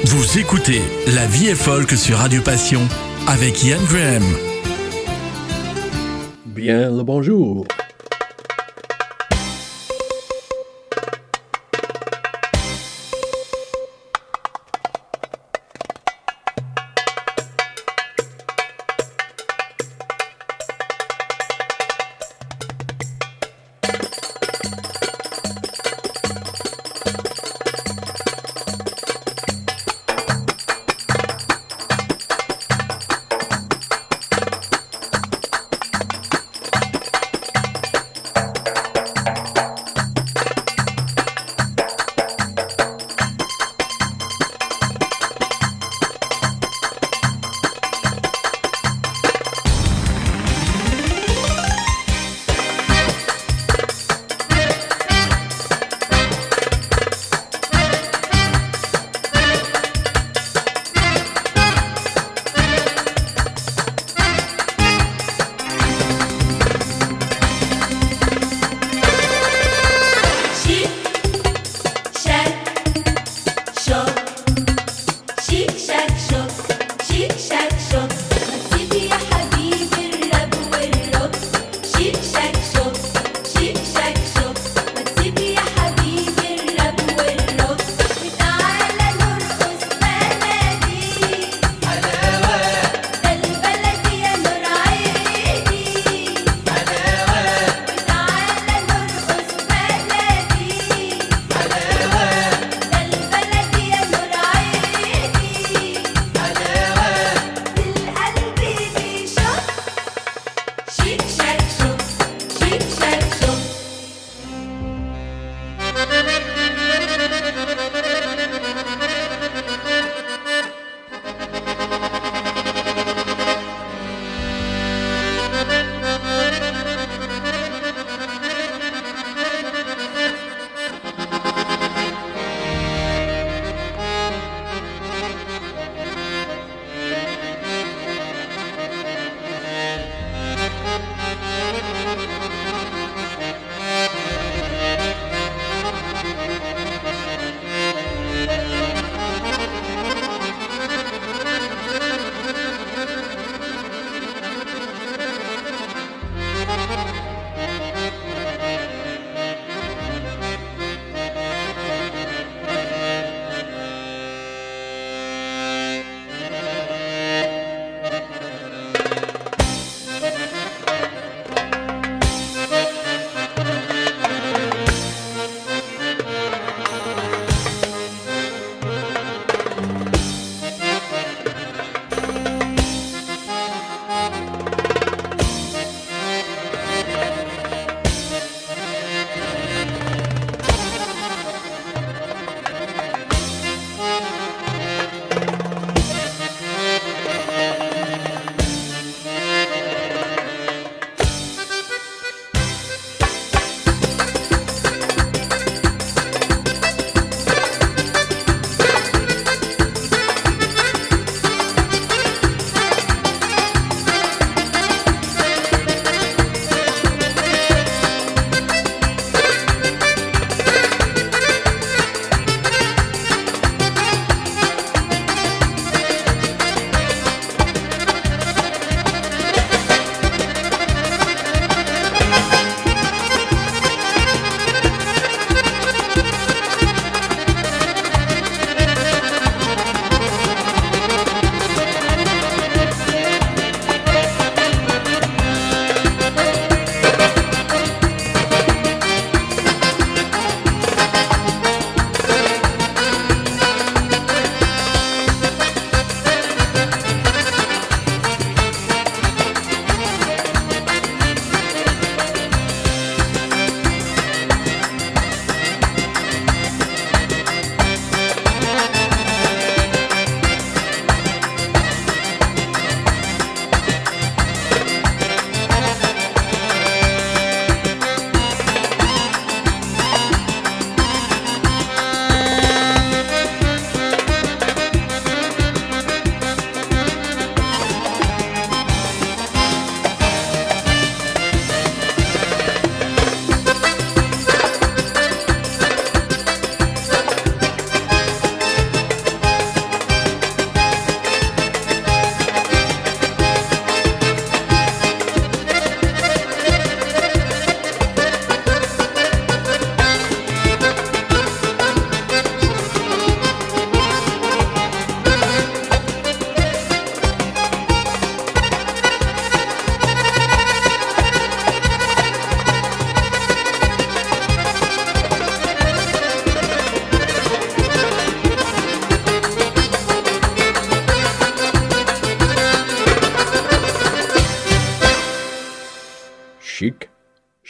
Vous écoutez La vie est folk sur Radio Passion avec Ian Graham. Bien le bonjour.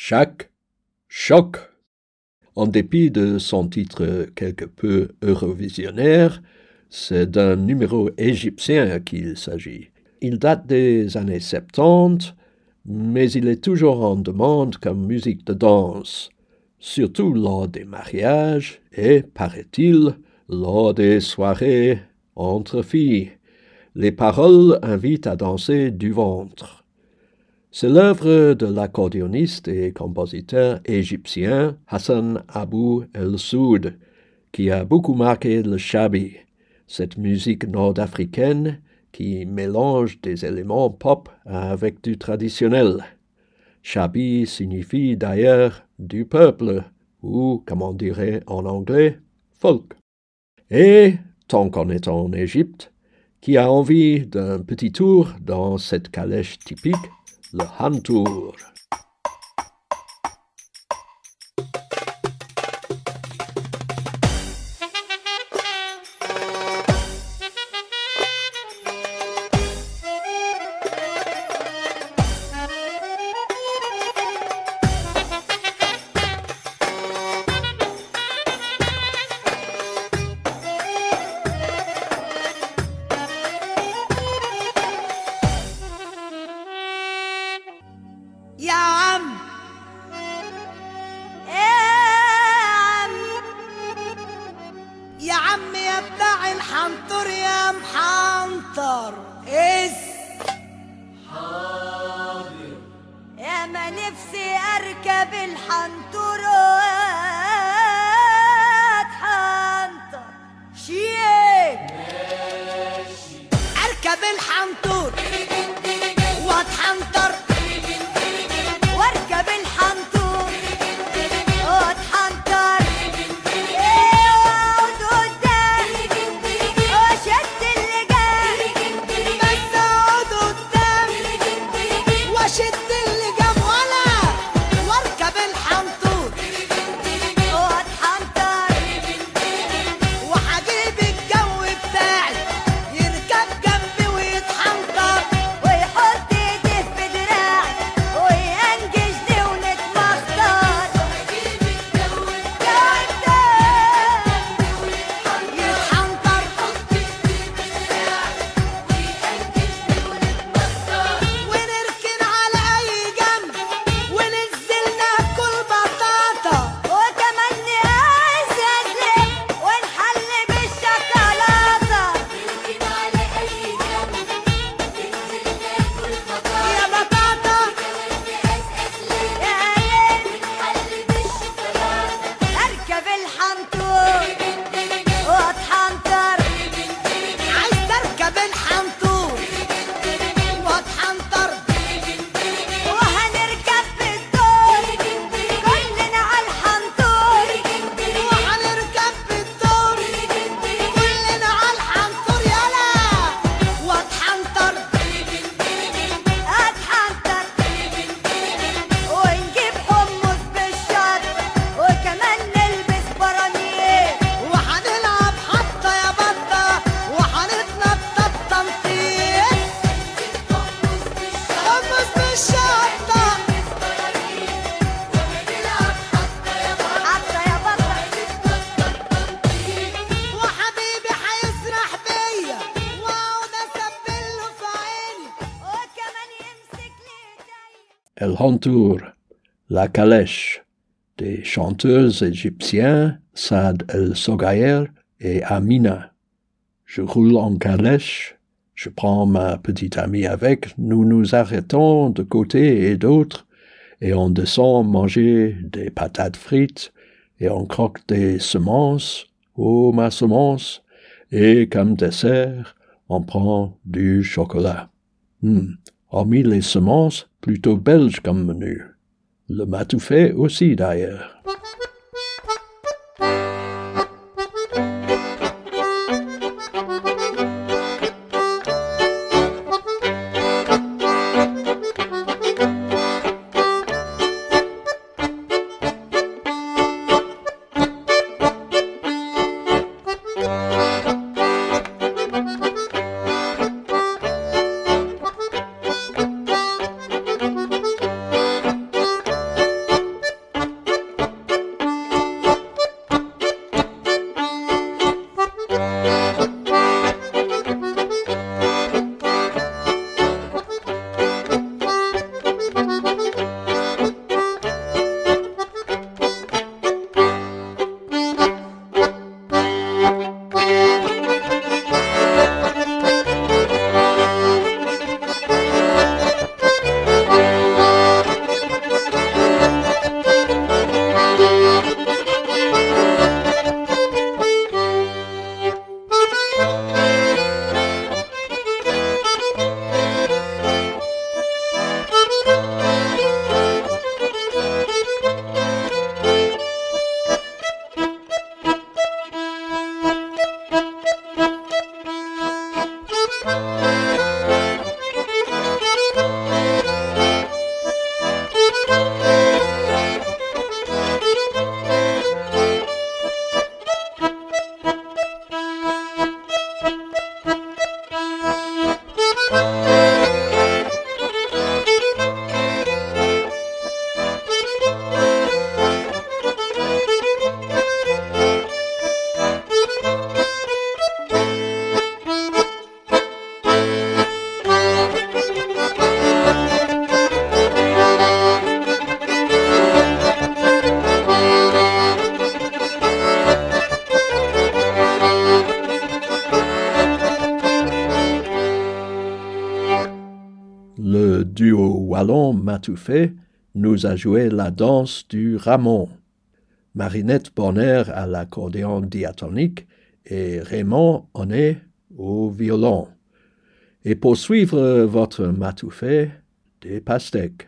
Chaque choc. En dépit de son titre quelque peu eurovisionnaire, c'est d'un numéro égyptien qu'il s'agit. Il date des années 70, mais il est toujours en demande comme musique de danse, surtout lors des mariages et, paraît-il, lors des soirées entre filles. Les paroles invitent à danser du ventre. C'est l'œuvre de l'accordéoniste et compositeur égyptien Hassan Abou El-Soud qui a beaucoup marqué le shabi, cette musique nord-africaine qui mélange des éléments pop avec du traditionnel. Shabi signifie d'ailleurs du peuple, ou, comme on dirait en anglais, folk. Et, tant qu'on est en Égypte, qui a envie d'un petit tour dans cette calèche typique, le hantour. El hantour, la calèche, des chanteurs égyptiens Saad El-Sogayer et Amina. Je roule en calèche, je prends ma petite amie avec, nous nous arrêtons de côté et d'autre, et on descend manger des patates frites, et on croque des semences, oh ma semence, et comme dessert, on prend du chocolat. Hormis les semences, plutôt belge comme menu. Le matoufé aussi d'ailleurs. duo wallon Matoufet nous a joué la danse du Ramon. Marinette Bonner à l'accordéon diatonique et Raymond Honnet au violon. Et pour suivre votre Matoufet, des pastèques.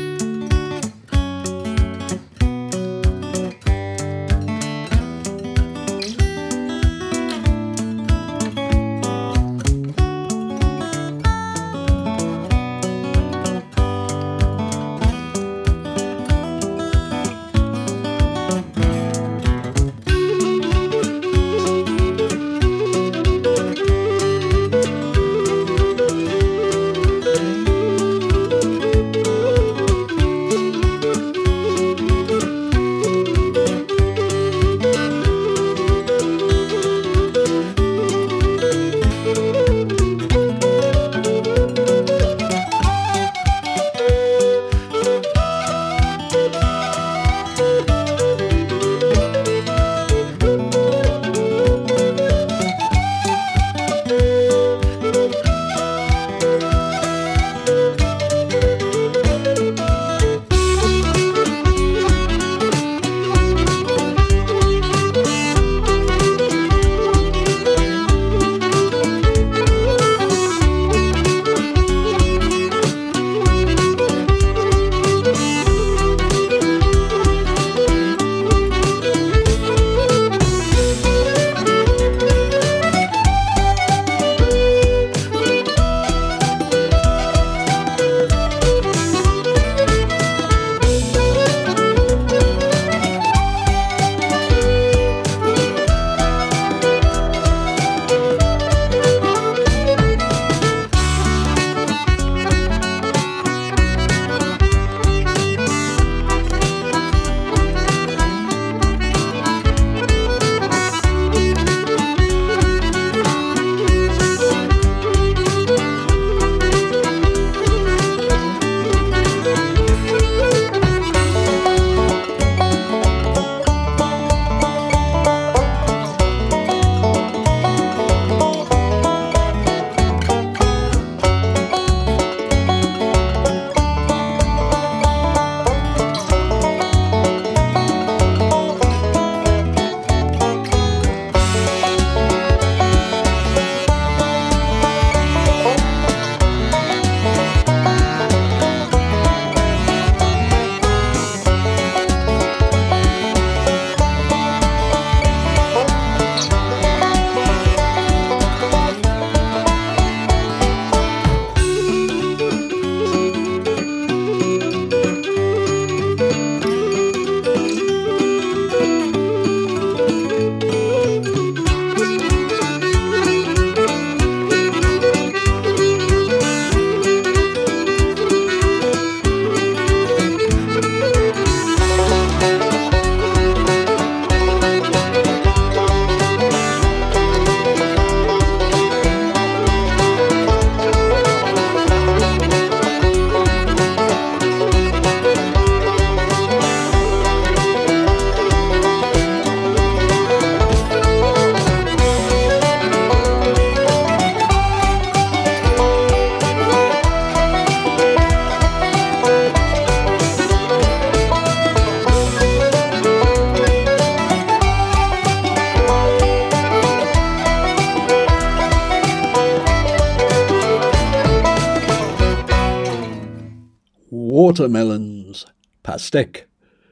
Watermelons, pastèque,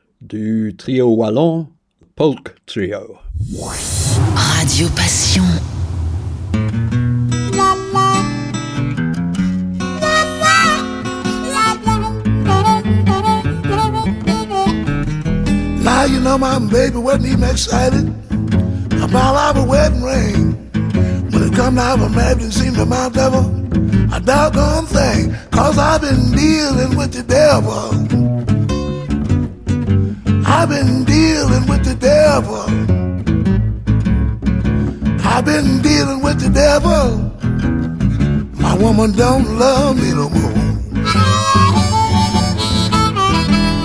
du trio wallon, Polk Trio. Radio Passion. Now you know my baby wasn't even excited about our wedding ring. When it come to our marriage, it seemed to my devil a doggone thing, 'cause I've been dealing with the devil. I've been dealing with the devil. I've been dealing with the devil. My woman don't love me no more.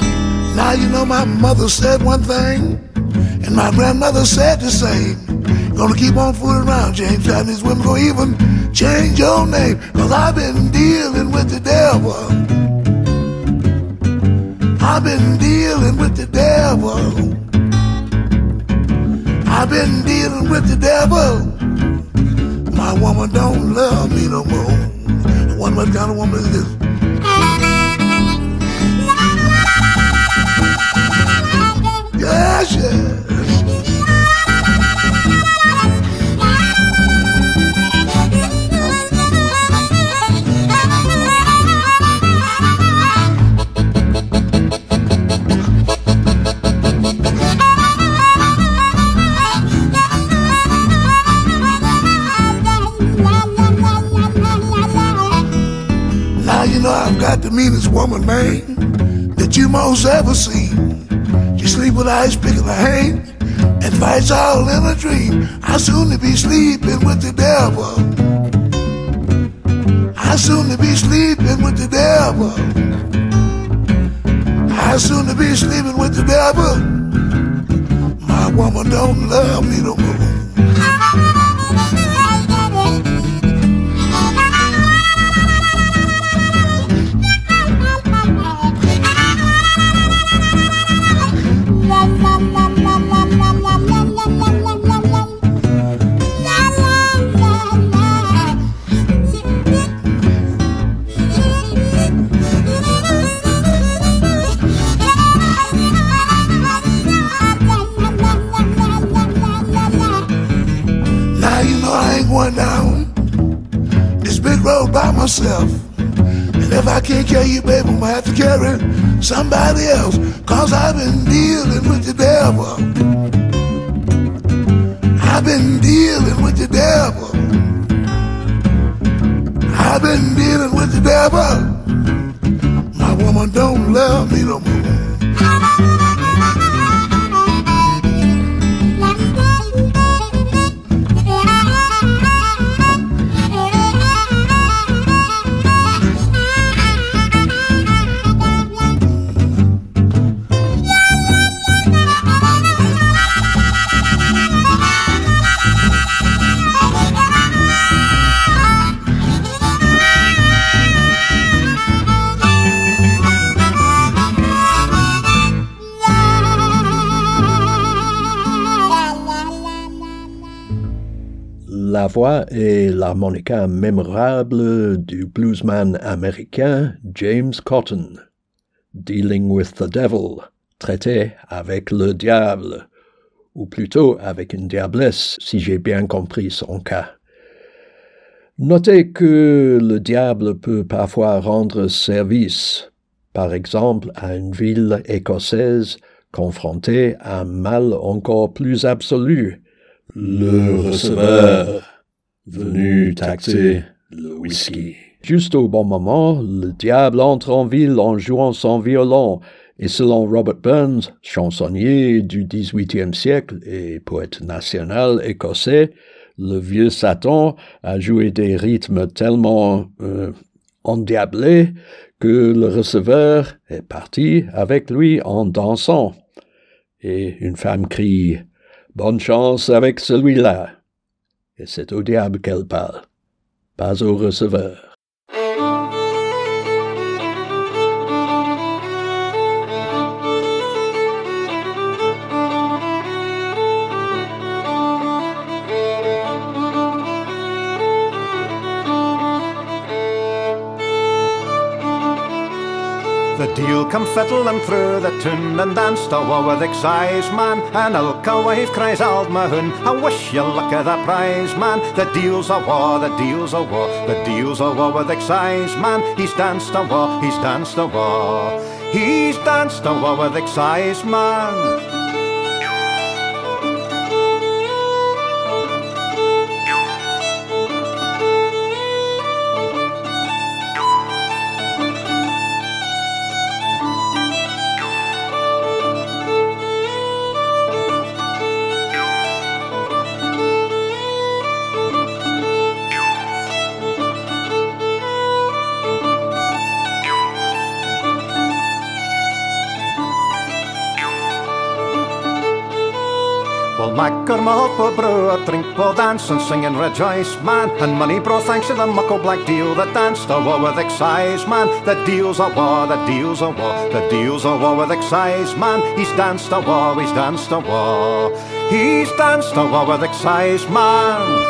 Now you know my mother said one thing, and my grandmother said the same. Gonna keep on fooling around, James. And these women gonna even change your name. Cause I've been dealing with the devil. I've been dealing with the devil. I've been dealing with the devil. My woman don't love me no more. I wonder what kind of woman is this? Yes, yes. Now you know I've got the meanest woman, man, that you most ever see. She sleep with ice pick in her hand and fights all in a dream. I soon to be sleeping with the devil. I soon to be sleeping with the devil. I soon to be sleeping with the devil. My woman don't love me no more. Down this big road by myself. And if I can't carry you, baby, I'm gonna have to carry somebody else. Cause I've been dealing with the devil. I've been dealing with the devil. I've been dealing with the devil. My woman don't love me no more. La voix et l'harmonica mémorable du bluesman américain James Cotton, Dealing with the Devil, traité avec le diable, ou plutôt avec une diablesse, si j'ai bien compris son cas. Notez que le diable peut parfois rendre service, par exemple à une ville écossaise confrontée à un mal encore plus absolu, le receveur, venu taxer le whisky. Juste au bon moment, le diable entre en ville en jouant son violon, et selon Robert Burns, chansonnier du XVIIIe siècle et poète national écossais, le vieux Satan a joué des rythmes tellement endiablés que le receveur est parti avec lui en dansant. Et une femme crie « Bonne chance avec celui-là !» Et c'est au diable qu'elle parle, pas au receveur. The deal come fiddling through the tune and danced a war with excise man. And Ilka wife cries out Mahoon, I wish you luck of the prize man. The deal's a war, the deal's a war, the deal's a war with excise man. He's danced a war, he's danced a war, he's danced a war with excise man. macker, malt på bröd, drink på dance and sing and rejoice, man. And money brought thanks to the muckle black deal that danced a war with excise, man. The deals a war, the deals a war, the deals a war with excise, man. He's danced a war, he's danced a war. He's danced a war with excise, man.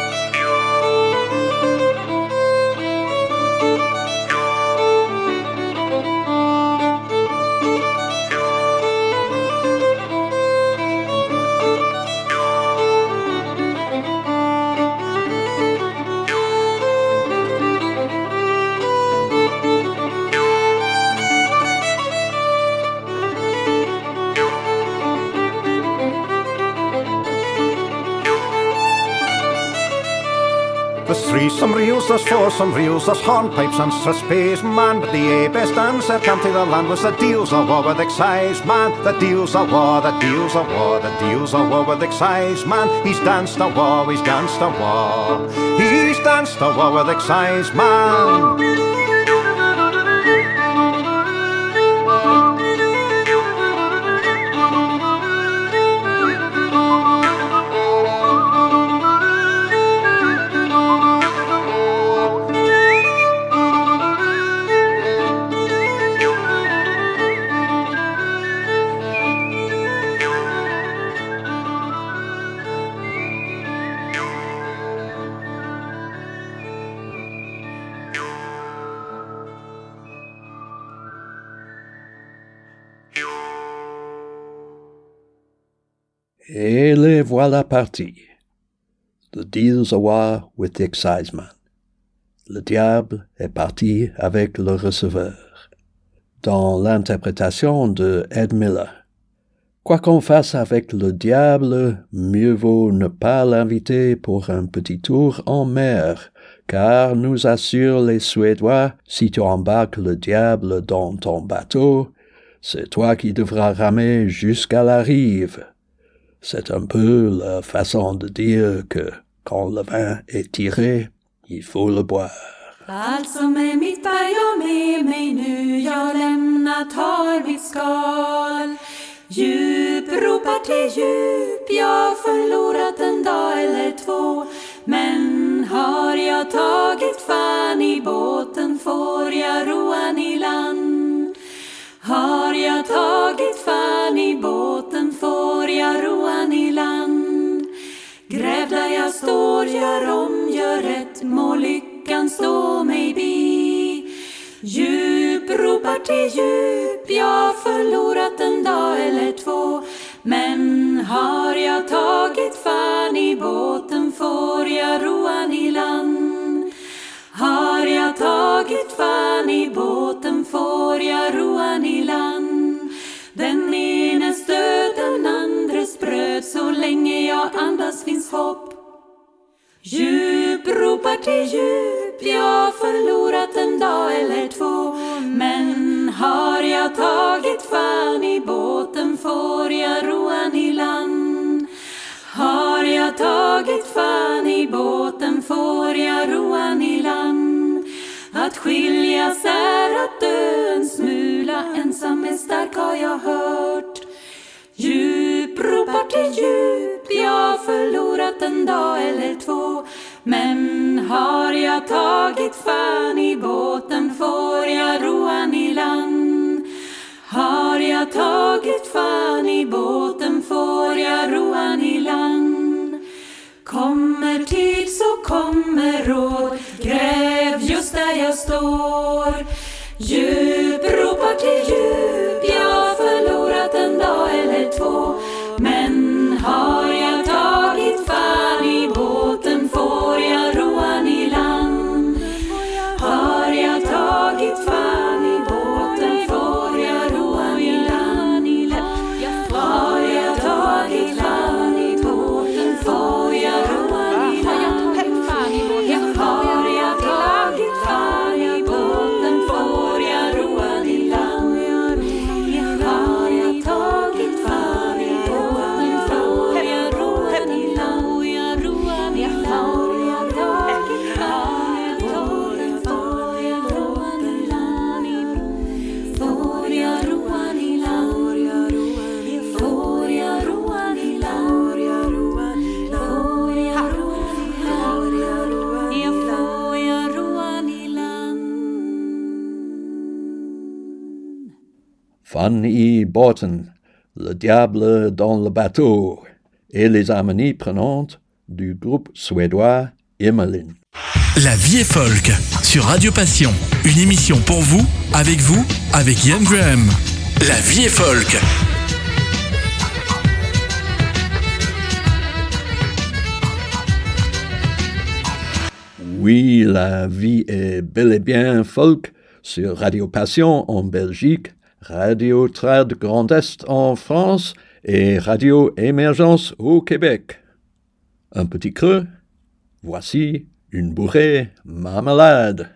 There's three some reels, there's four some reels, there's hornpipes and strathspeys, man. But the best answer come to the land was the deals of war with excise, man. The deals of war, the deals of war, the deals of war with excise, man. He's danced a war, he's danced a war. He's danced a war with excise, man. Et les voilà partis. The deal's a war with the exciseman. Le diable est parti avec le receveur. Dans l'interprétation de Ed Miller. Quoi qu'on fasse avec le diable, mieux vaut ne pas l'inviter pour un petit tour en mer, car nous assurent les Suédois, si tu embarques le diable dans ton bateau, c'est toi qui devras ramer jusqu'à la rive. C'est un peu la façon de dire que, quand le vin est tiré, il faut le boire. Allt som är mitt bär jag med mig nu, jag lämnat har mitt skal. Djup ropar till djup, jag förlorat en dag eller två. Men har jag tagit fan i båten får jag roan i land. Har jag tagit fan i båten får jag roan i land. Gräv där jag står, gör om, gör rätt, må lyckan stå mig bi. Djup ropar till djup, jag förlorat en dag eller två. Men har jag tagit fan i båten får jag roan i land. Har jag tagit fan i båten får jag roan i land. Den enes död, den andres bröd, så länge jag andas finns hopp. Djup ropar till djup, jag förlorat en dag eller två. Men har jag tagit fan i båten får jag roan i land. Har jag tagit fan i båten får jag roan i land. Att skiljas är att dö en smula, ensam är stark har jag hört. Djup ropar till djup, jag förlorat en dag eller två. Men har jag tagit fan i båten får jag roan i land. Har jag tagit fan i båten får jag roan i land. Kommer tid så kommer råd, gräv just där jag står. Djup ropar till djup, jag förlorat en dag eller två. Men har jag tagit fan i båten får jag roan i land. Har jag tagit fan i båten får jag roan i land. Har jag tagit fan i båten får jag roan i land. Har jag tagit fan i båten Fanny Borton, Le diable dans le bateau, et les harmonies prenantes du groupe suédois Immelin. La vie est folk sur Radio Passion. Une émission pour vous, avec Ian Graham. La vie est folk. Oui, la vie est bel et bien folk sur Radio Passion en Belgique, Radio Trad Grand Est en France et Radio Émergence au Québec. Un petit creux, voici une bourrée marmelade.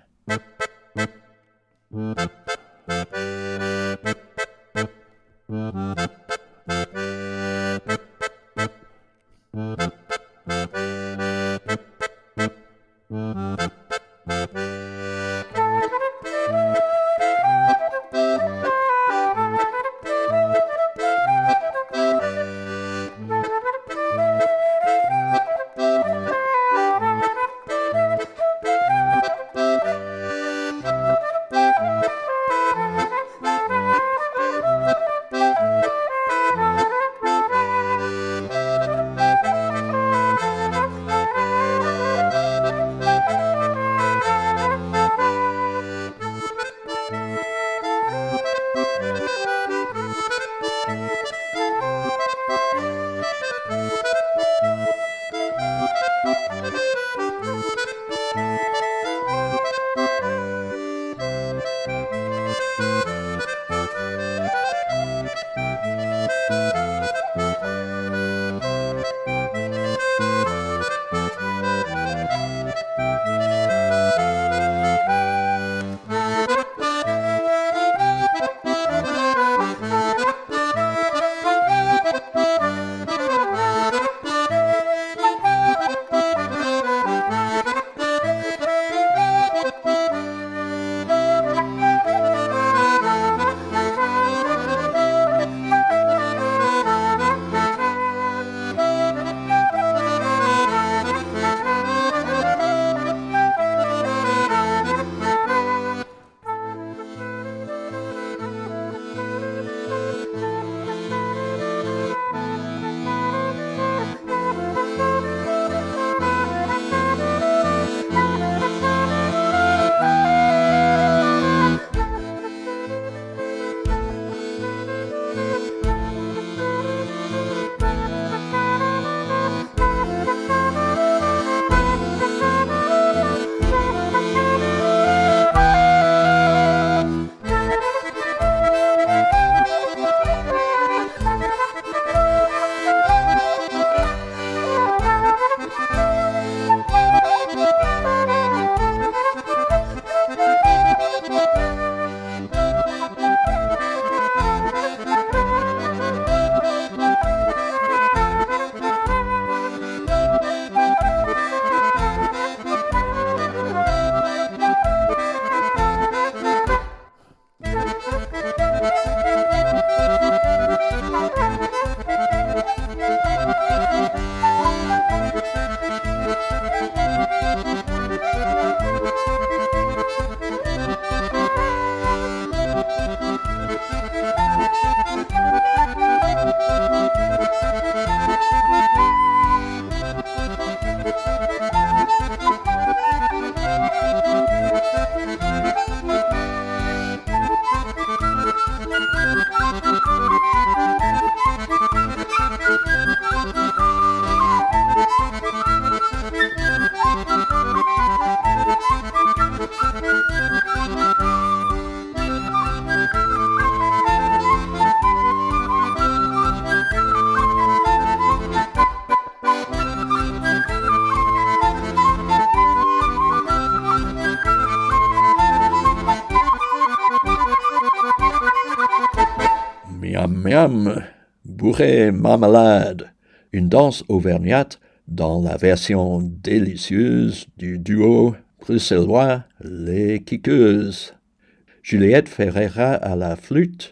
Miam miam, bourrée marmelade, une danse auvergnate dans la version délicieuse du duo bruxellois Les Kickeuses. Juliette Ferreira à la flûte,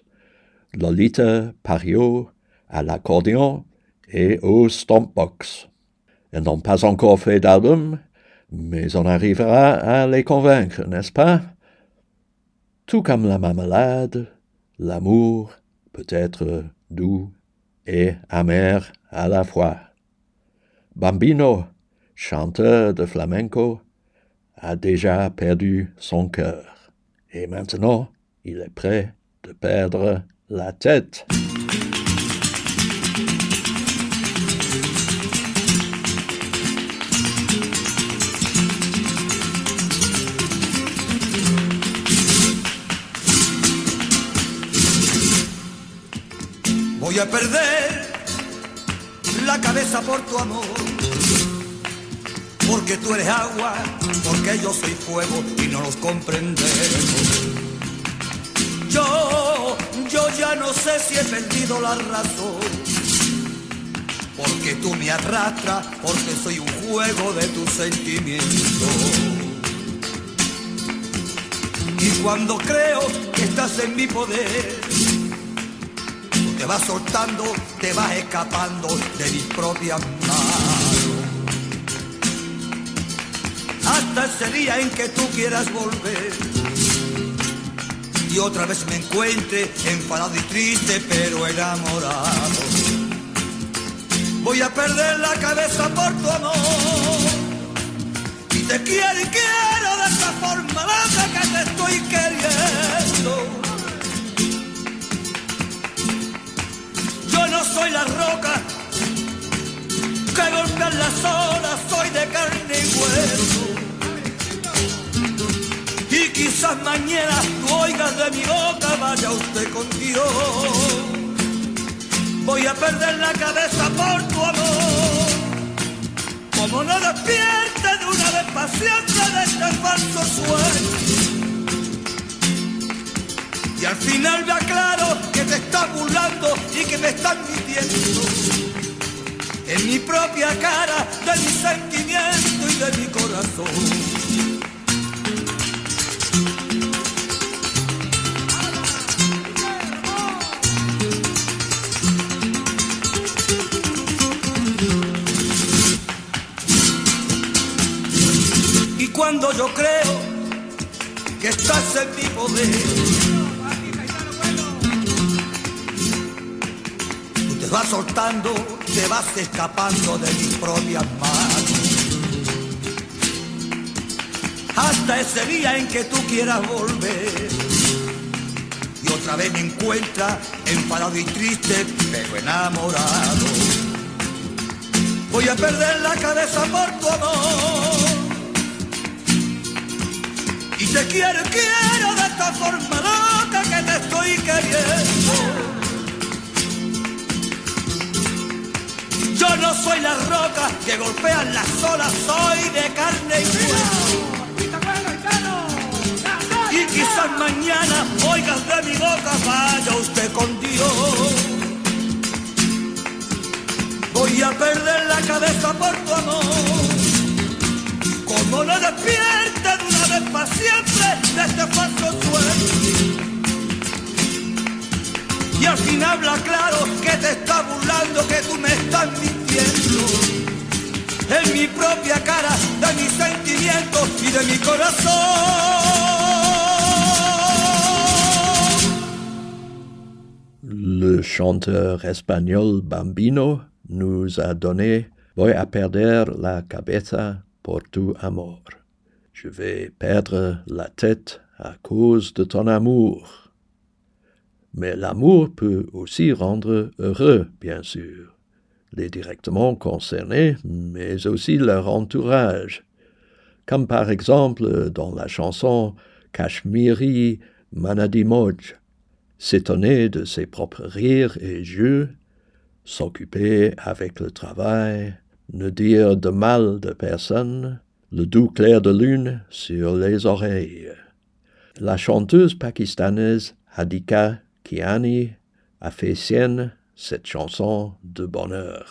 Lolita Pario à l'accordéon et au stompbox. Elles n'ont pas encore fait d'album, mais on arrivera à les convaincre, n'est-ce pas? Tout comme la marmelade, L'amour peut être doux et amer à la fois. Bambino, chanteur de flamenco, a déjà perdu son cœur. Et maintenant, il est prêt de perdre la tête. Voy a perder la cabeza por tu amor, porque tú eres agua, porque yo soy fuego y no los comprendemos. Yo ya no sé si he perdido la razón, porque tú me arrastras, porque soy un juego de tus sentimientos. Y cuando creo que estás en mi poder, te vas soltando, te vas escapando de mis propias manos. Hasta ese día en que tú quieras volver y otra vez me encuentre enfadado y triste pero enamorado. Voy a perder la cabeza por tu amor y te quiero y quiero de esta forma loca que te estoy queriendo. Yo no soy la roca que golpean las olas, soy de carne y hueso. Y quizás mañana tú oigas de mi boca, vaya usted con Dios. Voy a perder la cabeza por tu amor, como no despierte de una vez para siempre de este falso sueño. Y al final me aclaro que te estás burlando y que me estás mintiendo en mi propia cara de mi sentimiento y de mi corazón. Y cuando yo creo que estás en mi poder, te vas soltando, te vas escapando de mis propias manos. Hasta ese día en que tú quieras volver y otra vez me encuentras enfadado y triste pero enamorado. Voy a perder la cabeza por tu amor y te quiero de esta forma loca que te estoy queriendo. Yo no soy la roca que golpean las olas, soy de carne y hueso. Y quizás mañana oigas de mi boca, vaya usted con Dios. Voy a perder la cabeza por tu amor, como no despierte de una vez para siempre de este falso sueño. Y al fin habla claro que te está burlando, que tú me estás mintiendo en mi propia cara de mis sentimientos y de mi corazón. Le chanteur espagnol Bambino nous a donné Voy a perder la cabeza por tu amor. Je vais perdre la tête à cause de ton amour. Mais l'amour peut aussi rendre heureux, bien sûr, les directement concernés, mais aussi leur entourage, comme par exemple dans la chanson « Kashmiri Manadi Moj », s'étonner de ses propres rires et jeux, s'occuper avec le travail, ne dire de mal de personne, le doux clair de lune sur les oreilles. La chanteuse pakistanaise Hadika Kiani a fait sienne cette chanson de bonheur.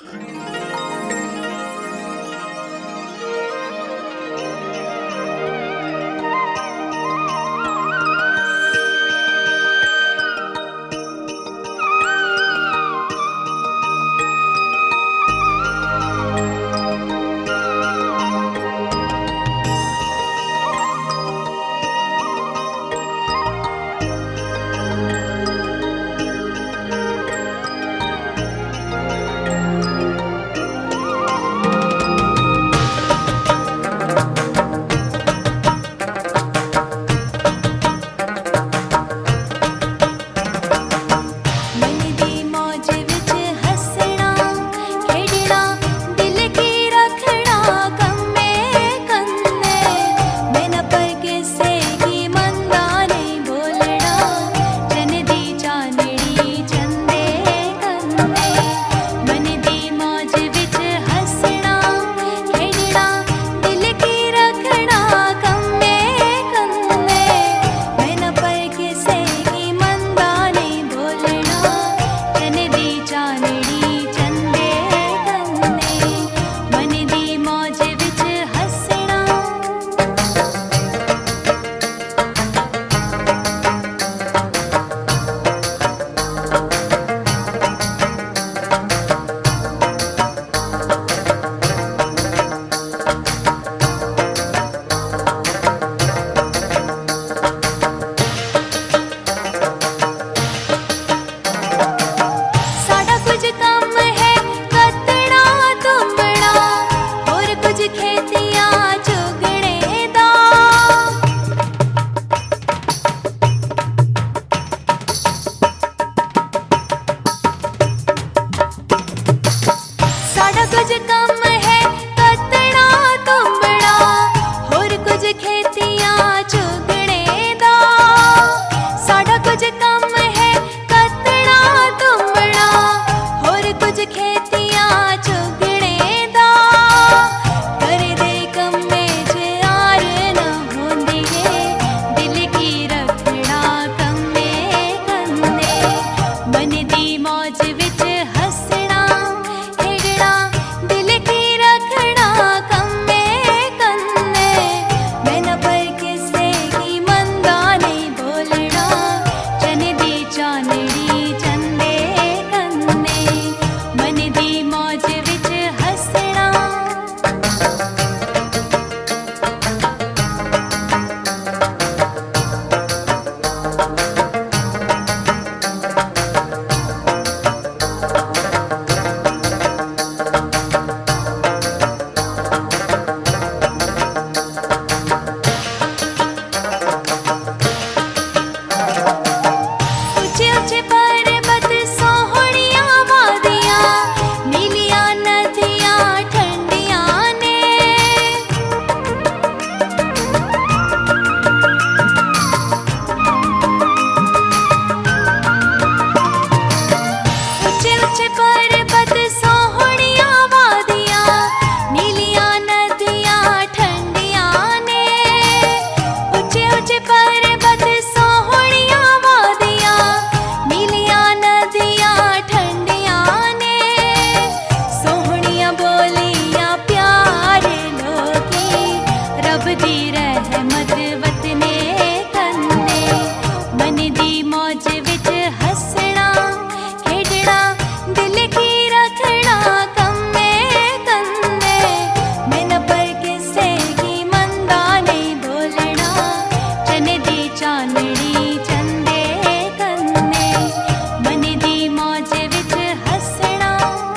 रहमत वतने कन्ने मन दी मौज विच हसना खेडना दिल की रखना कम्मे कन्ने मैं न पर किसे की मंदा नहीं बोलना चन दी चांदनी चंदे कन्ने मन दी मौज विच हसना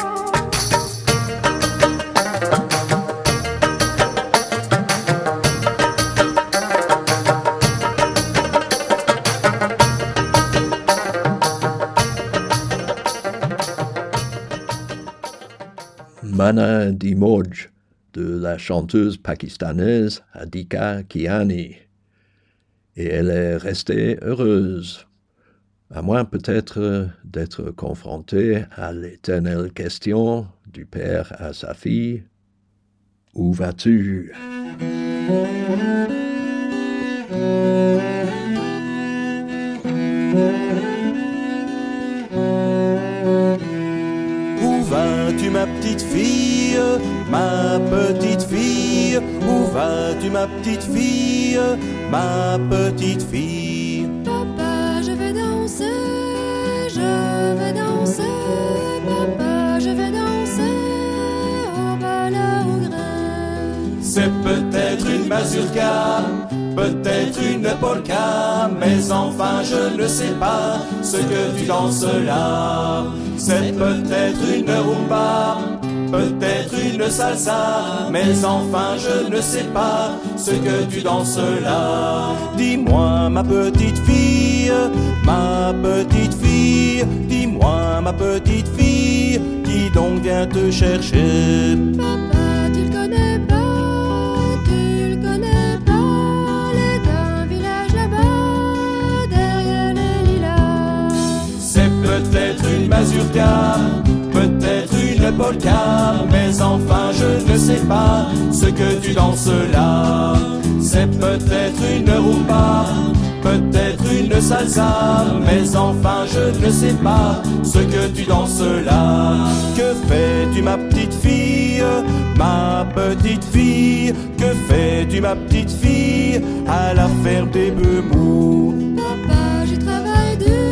Mana Di Moj de la chanteuse pakistanaise Adika Kiani. Et elle est restée heureuse, à moins peut-être d'être confrontée à l'éternelle question du père à sa fille. Où vas-tu? Où vas-tu ma petite fille, ma petite fille? Où vas-tu ma petite fille, ma petite fille? Papa, je vais danser, papa, je vais danser au bal au grain. C'est peut-être une mazurka, peut-être une polka, mais enfin je ne sais pas ce que tu danses là. C'est peut-être une rumba, peut-être une salsa, mais enfin je ne sais pas ce que tu danses là. Dis-moi ma petite fille, dis-moi ma petite fille, qui donc vient te chercher? Papa, tu le connais pas, il est d'un village là-bas, derrière les lilas. C'est peut-être une mazurka, peut-être une polka, mais enfin je ne sais pas ce que tu danses là. C'est peut-être une rumba, peut-être une salsa, mais enfin je ne sais pas ce que tu danses là. Que fais-tu ma petite fille, ma petite fille? Que fais-tu ma petite fille à la ferme des bœufs mous? Papa, j'y travaille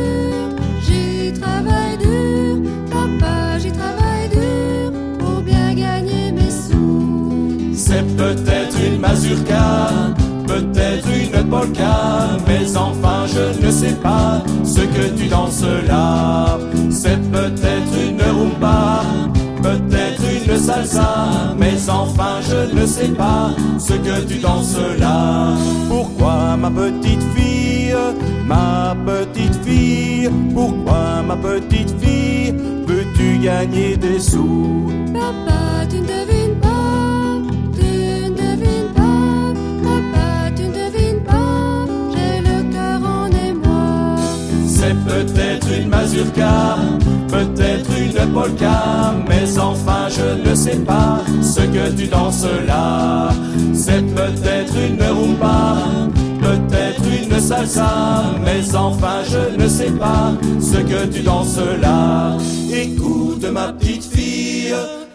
dur, papa, j'y travaille dur, pour bien gagner mes sous. C'est peut-être une mazurka, peut-être une polka, mais enfin je ne sais pas ce que tu danses là. C'est peut-être une rumba, peut-être une salsa, mais enfin je ne sais pas ce que tu danses là. Pourquoi ma petite fille, pourquoi ma petite fille, veux-tu gagner des sous? Papa, tu ne devines pas, papa, tu ne devines pas, j'ai le cœur en émoi. C'est peut-être une mazurka, peut-être une polka, mais enfin je ne sais pas ce que tu danses là. C'est peut-être une rumba, peut-être une salsa, mais enfin je ne sais pas ce que tu danses là. Écoute ma petite fille,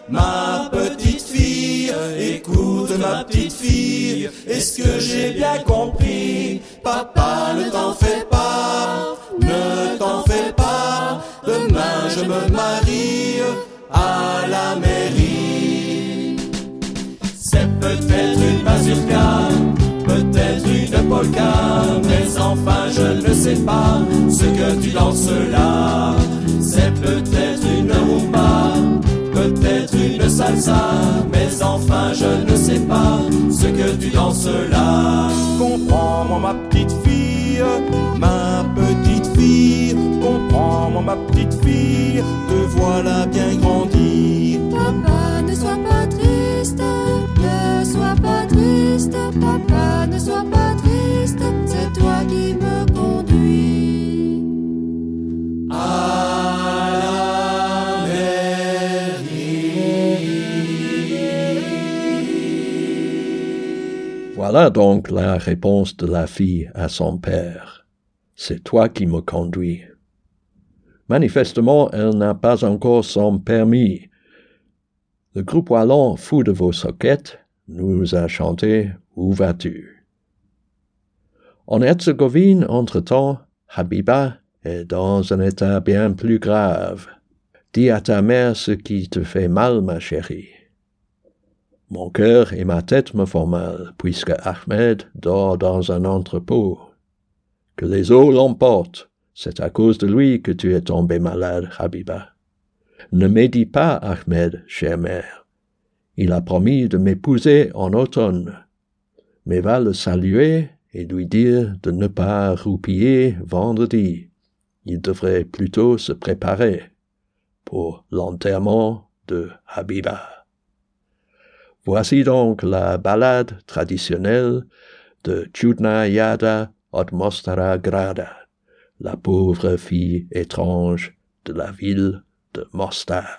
écoute ma petite fille, est-ce que j'ai bien compris? Papa, ne t'en fais pas, demain je me marie à la mairie. C'est peut-être une mazurka, peut-être une polka, mais enfin je ne sais pas ce que tu danses là. C'est peut-être une rumba, peut-être une salsa, mais enfin je ne sais pas ce que tu danses là. Comprends-moi ma petite fille, comprends-moi ma petite fille, te voilà bien grandi. Papa, ne sois pas triste, papa, ne sois pas triste, c'est toi qui me conduis à la mairie. Voilà donc la réponse de la fille à son père. C'est toi qui me conduis. Manifestement, elle n'a pas encore son permis. Le groupe wallon Fou de vos soquettes nous a chanté « Où vas-tu » En Herzégovine, entre-temps, Habiba est dans un état bien plus grave. Dis à ta mère ce qui te fait mal, ma chérie. Mon cœur et ma tête me font mal, puisque Ahmed dort dans un entrepôt. Que les eaux l'emportent, c'est à cause de lui que tu es tombée malade, Habiba. Ne médis pas, Ahmed, chère mère. Il a promis de m'épouser en automne, mais va le saluer et lui dire de ne pas roupiller vendredi. Il devrait plutôt se préparer pour l'enterrement de Habiba. Voici donc la ballade traditionnelle de Čudná Jada od Mostara Grada, la pauvre fille étrange de la ville de Mostar.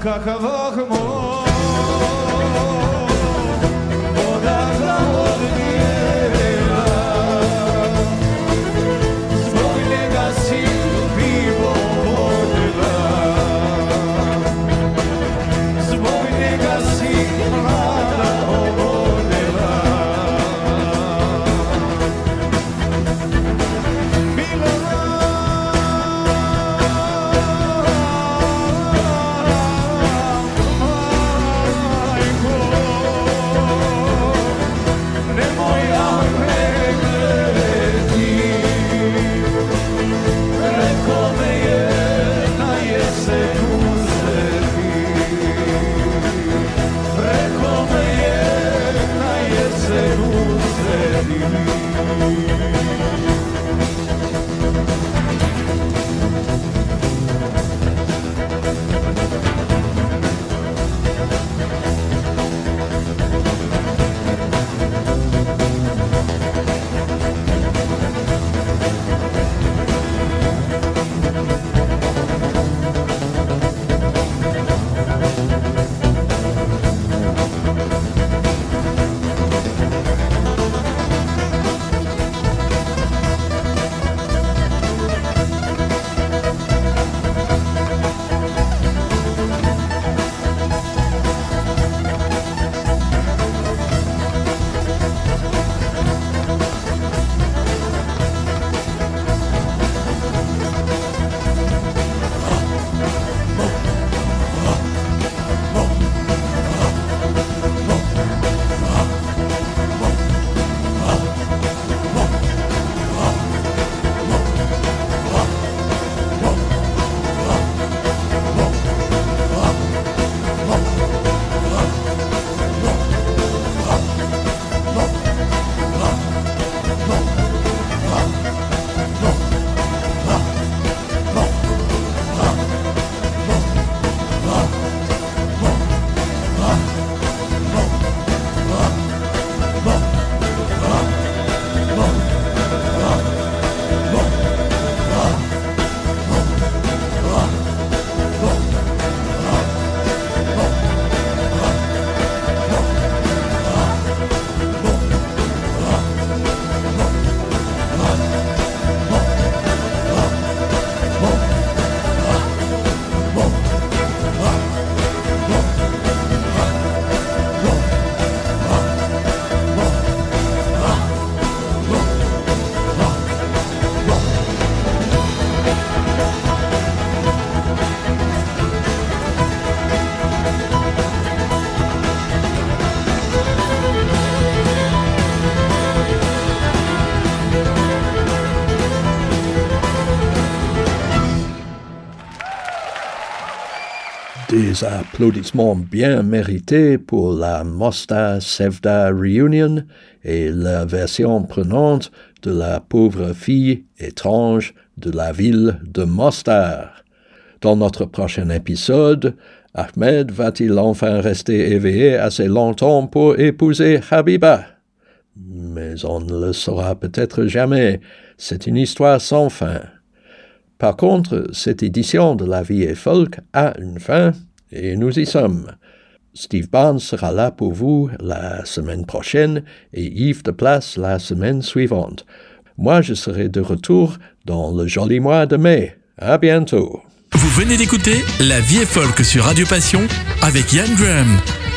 Des applaudissements bien mérités pour la Mostar Sevda Reunion et la version prenante de la pauvre fille étrange de la ville de Mostar. Dans notre prochain épisode, Ahmed va-t-il enfin rester éveillé assez longtemps pour épouser Habiba? Mais on ne le saura peut-être jamais, c'est une histoire sans fin. Par contre, cette édition de La Vie est Folk a une fin, et nous y sommes. Steve Barnes sera là pour vous la semaine prochaine et Yves de Place la semaine suivante. Moi, je serai de retour dans le joli mois de mai. À bientôt. Vous venez d'écouter La Vie est Folk sur Radio Passion avec Yann Graham.